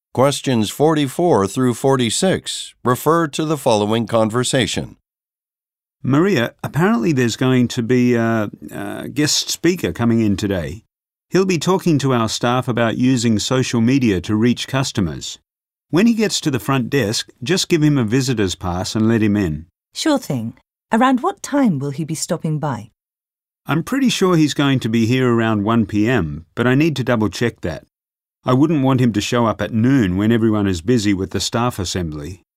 Questions 44 through 46 refer to the following conversation. Maria, apparently there's going to be a guest speaker coming in today. He'll be talking to our staff about using social media to reach customers. When he gets to the front desk, just give him a visitor's pass and let him in. Sure thing. Around what time will he be stopping by? I'm pretty sure he's going to be here around 1 p.m, but I need to double-check that. I wouldn't want him to show up at noon when everyone is busy with the staff assembly.